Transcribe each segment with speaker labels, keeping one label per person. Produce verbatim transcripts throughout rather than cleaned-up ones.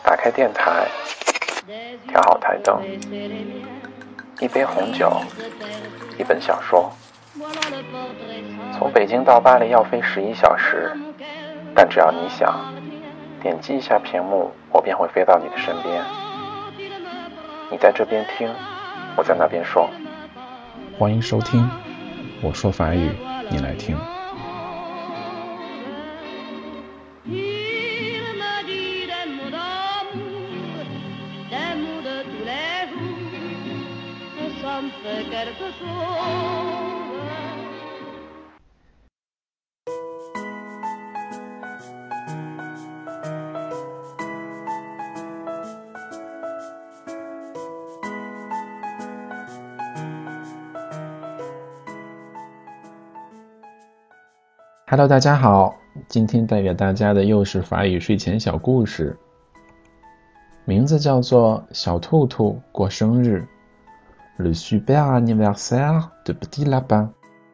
Speaker 1: 打开电台，调好台灯，一杯红酒，一本小说。从北京到巴黎要飞十一小时，但只要你想，点击一下屏幕，我便会飞到你的身边。你在这边听，我在那边说。欢迎收听，我说法语，你来听。Hello， 大家好，今天带给大家的又是法语睡前小故事，名字叫做小兔兔过生日 Le super anniversaire de Petit Lapin.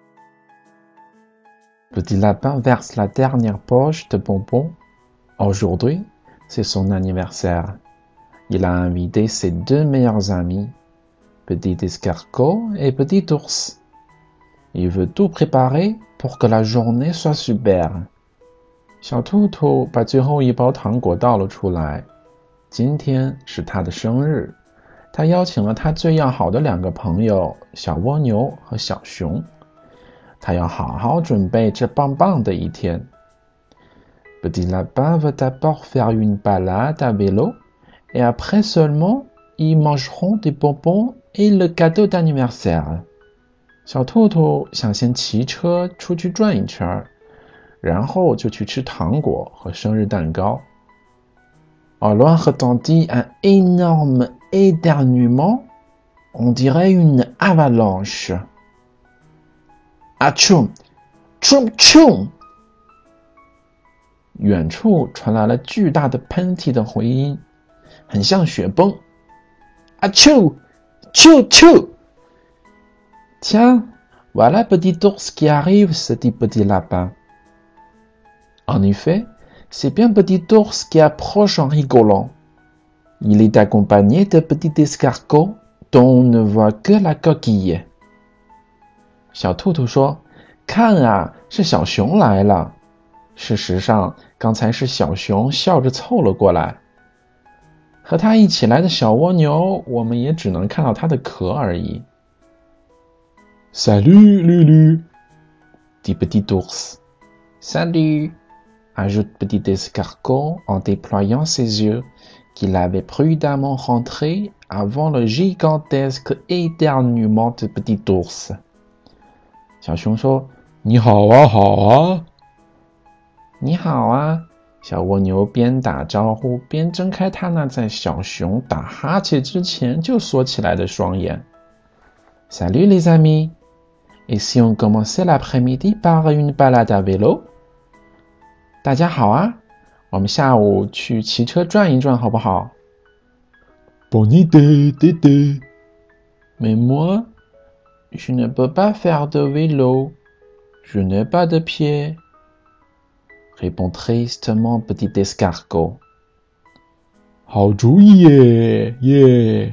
Speaker 1: Petit Lapin verse la dernière poche de bonbons. Aujourd'hui, c'est son anniversaire. Il a invité ses deux meilleurs amis, Petit Escargot et Petit Ours.Il veut tout préparer pour que la journée soit super. 小兔兔把最后一包糖果倒了出来。今天是他的生日，他邀请了他最要好的两个朋友小蜗牛和小熊。他要好好准备这棒棒的一天。Petit lapin veut d'abord faire une balade à vélo et après seulement ils mangeront des bonbons et le cadeau d'anniversaire.小兔兔想先骑车出去转一圈，然后就去吃糖果和生日蛋糕。Au loin retentit un énorme éternuement, on dirait une avalanche. Atchoum, tchoum tchoum. 远处传来了巨大的喷嚏的回音，很像雪崩。Atchou, tchou tchou.Tiens, voilà Petit Ours qui arrive, se dit Petit Lapin. En effet, c'est bien Petit Ours qui approche en rigolant. Il est accompagné de Petit Escargot, dont on ne voit que la coquille. 小兔兔说：“看啊，是小熊来了。”事实上，刚才是小熊笑着凑了过来。和他一起来的小蜗牛，我们也只能看到它的壳而已。Salut, Lulu, dit Petit Ours. Salut, ajoute Petit Escargot en déployant ses yeux, qu'il avait prudemment rentrés avant le gigantesque éternuement de Petit Ours. 小熊说：“你好啊，好啊。”你好啊，小蜗牛边打招呼边睁开它那在小熊打哈欠之前就缩起来的双眼。Salut les amis.Et si on commençait l'après-midi par une balade à vélo? 大家好啊，我们下午去骑车转一转好不好？ Bonne idée, Dédé. Mais moi, je ne peux pas faire de vélo. Je n'ai pas de pied. Répond tristement Petit Escargot. 好主意耶耶！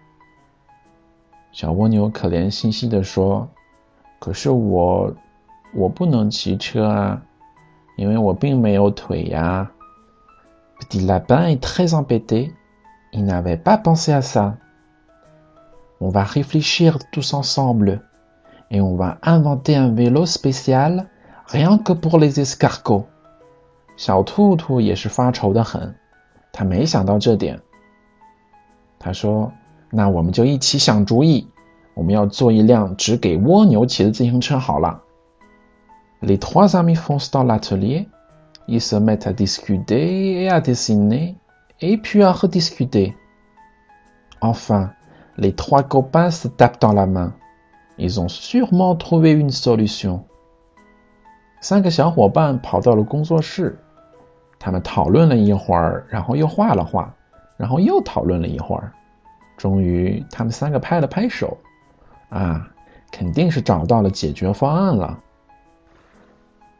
Speaker 1: 小蜗牛可怜兮兮地说。可是我我不能骑车啊，因为我并没有腿呀。Petit Lapin est très embêté. Il n'avait pas pensé à ça. On va réfléchir tous ensemble et on va inventer un vélo spécial rien que pour les escargots. 小兔兔也是发愁得很，他没想到这点。他说：“那我们就一起想主意。”我们要做一辆只给蜗牛骑的自行车好了。Les trois amis foncent dans l'atelier. Ils se mettent à discuter et à dessiner, et puis à rediscuter. Enfin, les trois copains se tapent dans la main. Ils ont sûrement trouvé une solution. 三个小伙伴跑到了工作室，他们讨论了一会儿，然后又画了画，然后又讨论了一会儿。终于，他们三个拍了拍手。啊，肯定是找到了解决方案了。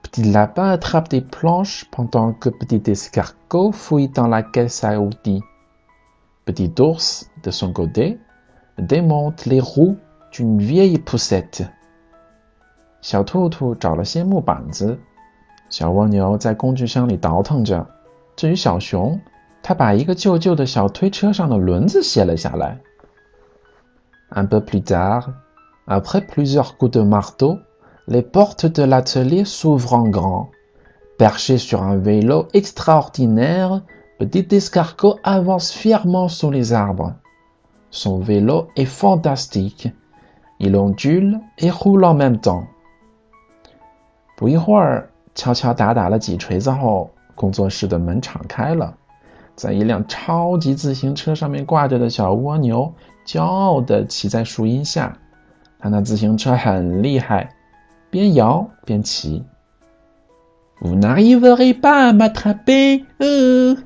Speaker 1: Petit lapin attrape des planches pendant que petit escargot fouille dans la caisse à outils. Petit ours, de son côté, démonte les roues d'une vieille poussette. 小兔兔找了些木板子，小蜗牛在工具箱里倒腾着。至于小熊，他把一个旧旧的小推车上的轮子卸了下来。Un peu plus tard, après plusieurs coups de marteau, les portes de l'atelier s'ouvrent en grand. Perché sur un vélo extraordinaire, petit escargot avance fièrement sous les arbres. Son vélo est fantastique. Il ondule et roule en même temps. 不一会儿，敲敲打打了几锤子后，工作室的门敞开了。在一辆超级自行车上面挂着的小蜗牛骄傲地骑在树荫下，他那自行车很厉害，边摇边骑。Vous n'arriverez pas à m'attraper, euh,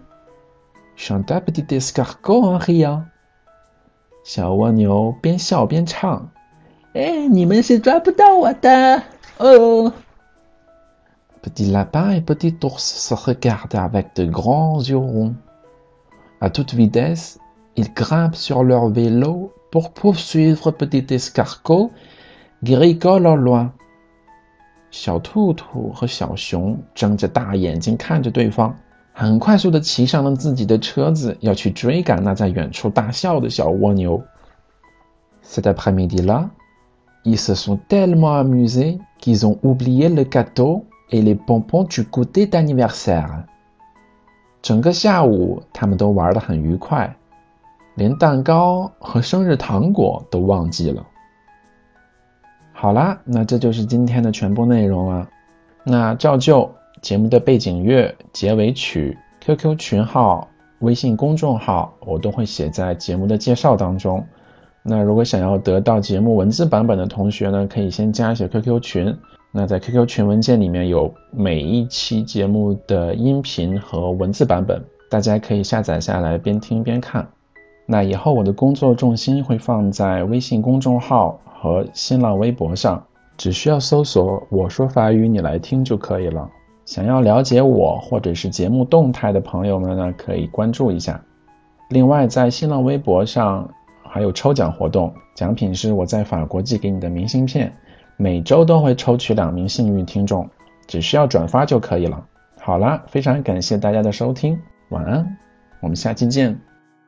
Speaker 1: chanta petit escargot en riant. 小蜗牛边笑边唱，哎，你们是抓不到我的，哦。Petit lapin et petit ours se regardent avec de grands yeux ronds. À toute vitesse, ils grimpent sur leur vélo pour poursuivre petit escargot qui rigole au loin. 小兔兔和小熊睁着大眼睛看着对方，很快速地骑上了自己的车子，要去追赶那在远处大笑的小蜗牛。Cet après-midi-là, ils se sont tellement amusés qu'ils ont oublié le gâteau et les bonbons du goûter d'anniversaire. 整个下午他们都玩得很愉快，连蛋糕和生日糖果都忘记了。好啦，那这就是今天的全部内容了。那照旧，节目的背景乐、结尾曲、Q Q 群号、微信公众号我都会写在节目的介绍当中。那如果想要得到节目文字版本的同学呢，可以先加一些 Q Q 群。那在 Q Q 群文件里面有每一期节目的音频和文字版本，大家可以下载下来边听边看。那以后我的工作重心会放在微信公众号和新浪微博上，只需要搜索我说法语你来听就可以了。想要了解我或者是节目动态的朋友们呢，可以关注一下。另外在新浪微博上还有抽奖活动，奖品是我在法国寄给你的明信片，每周都会抽取两名幸运听众，只需要转发就可以了。好啦，非常感谢大家的收听，晚安，我们下期见。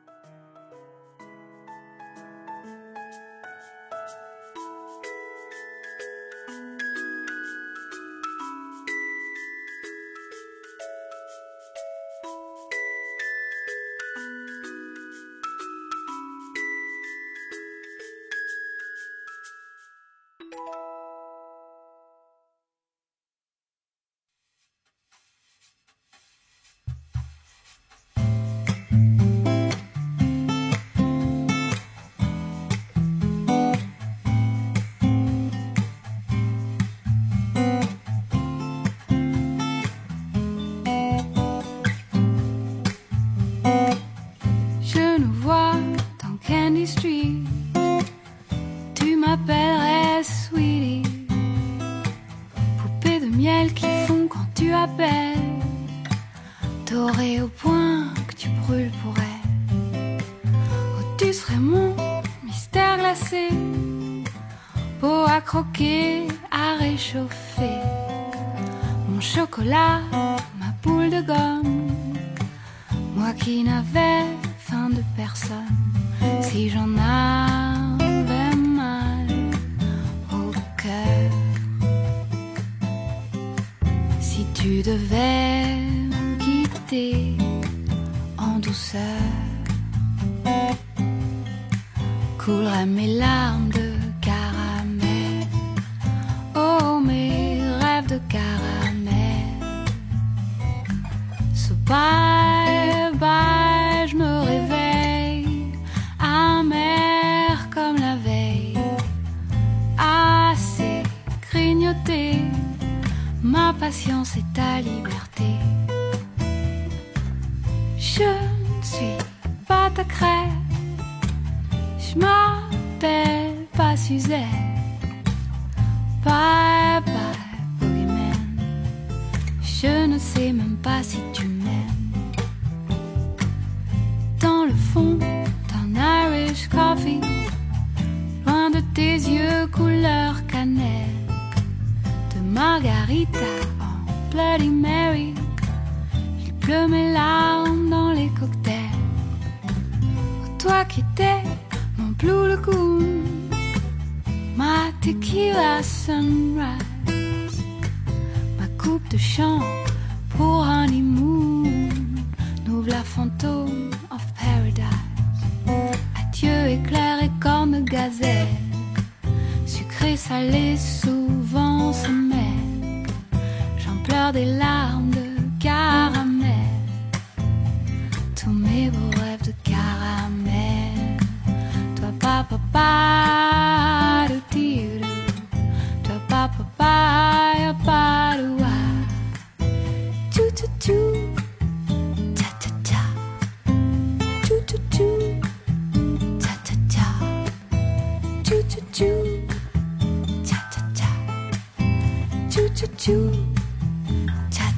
Speaker 2: m'appellerais Sweetie, poupée de miel qui fond quand tu appelles, dorée au point que tu brûles pour elle. Oh, tu serais mon mystère glacé, peau à croquer, à réchauffer, mon chocolat, ma boule de gomme, moi qui n'avais faim de personne, si j'en avais mal au cœur. Si tu devais me quitter en douceur, couleraient mes larmes de caramel, oh mes rêves de caramel. So bye bye, je me réveille amère comme la veille, assez grignoté, ma patience est ta liberté. Je ne suis pas ta crème, je m'appelle pas Suzette. Bye bye boogeyman, pas si tu m'aimes. Dans le fond d'un Irish coffee, loin de tes yeux couleur cannelle, de margarita en Bloody Mary, il pleut mes larmes dans les cocktails. Oh, toi qui étais mon Blue Lagoon, ma tequila sunrise, ma coupe de champ pour honeymoon, nous la fantôme of paradise. Adieu éclair et corne de gazelle, sucré salé souvent se mêle, j'en pleure des larmes de caramel, tous mes beaux rêves de caramel. Toi papa pa do ti do, toi papa pa ya pa do wa, chou chou chou, cha cha cha, chou chou chou, cha cha cha, chou chou chou, cha cha cha, chou chou chou, cha